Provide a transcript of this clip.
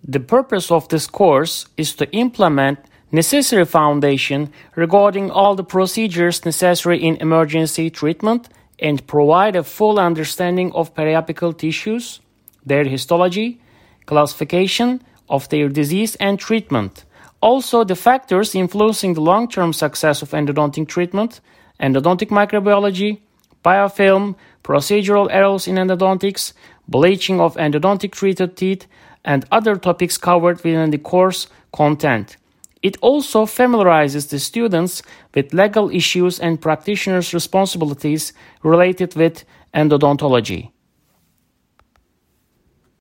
The purpose of this course is to implement necessary foundation regarding all the procedures necessary in emergency treatment and provide a full understanding of periapical tissues, their histology, classification of their disease and treatment. Also, the factors influencing the long-term success of endodontic treatment, endodontic microbiology, biofilm, procedural errors in endodontics, bleaching of endodontic treated teeth, and other topics covered within the course content. It also familiarizes the students with legal issues and practitioners' responsibilities related with endodontology.